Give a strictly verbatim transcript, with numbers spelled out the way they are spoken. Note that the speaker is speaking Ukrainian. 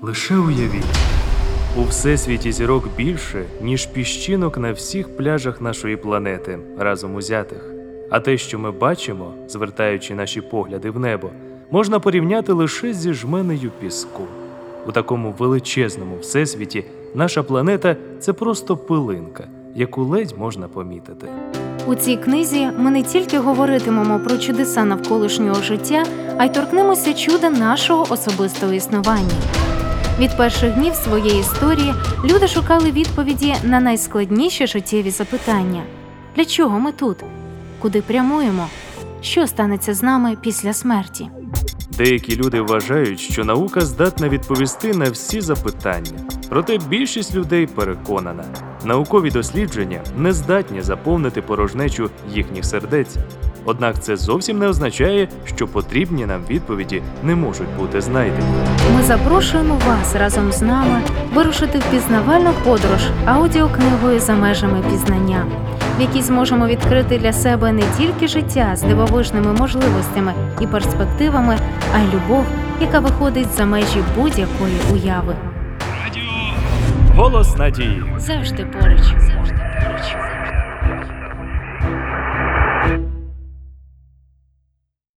Лише уявіть, у всесвіті зірок більше, ніж піщинок на всіх пляжах нашої планети, разом узятих. А те, що ми бачимо, звертаючи наші погляди в небо, можна порівняти лише зі жменею піску. У такому величезному всесвіті наша планета – це просто пилинка, яку ледь можна помітити. У цій книзі ми не тільки говоритимемо про чудеса навколишнього життя, а й торкнемося чуда нашого особистого існування. Від перших днів своєї історії люди шукали відповіді на найскладніші життєві запитання. Для чого ми тут? Куди прямуємо? Що станеться з нами після смерті? Деякі люди вважають, що наука здатна відповісти на всі запитання. Проте більшість людей переконана, наукові дослідження не здатні заповнити порожнечу їхніх сердець. Однак це зовсім не означає, що потрібні нам відповіді не можуть бути знайдені. Ми запрошуємо вас разом з нами вирушити в пізнавальну подорож аудіокнигою «За межами пізнання», в якій зможемо відкрити для себе не тільки життя з дивовижними можливостями і перспективами, а й любов, яка виходить за межі будь-якої уяви. Голос надії. Завжди поруч. Завжди.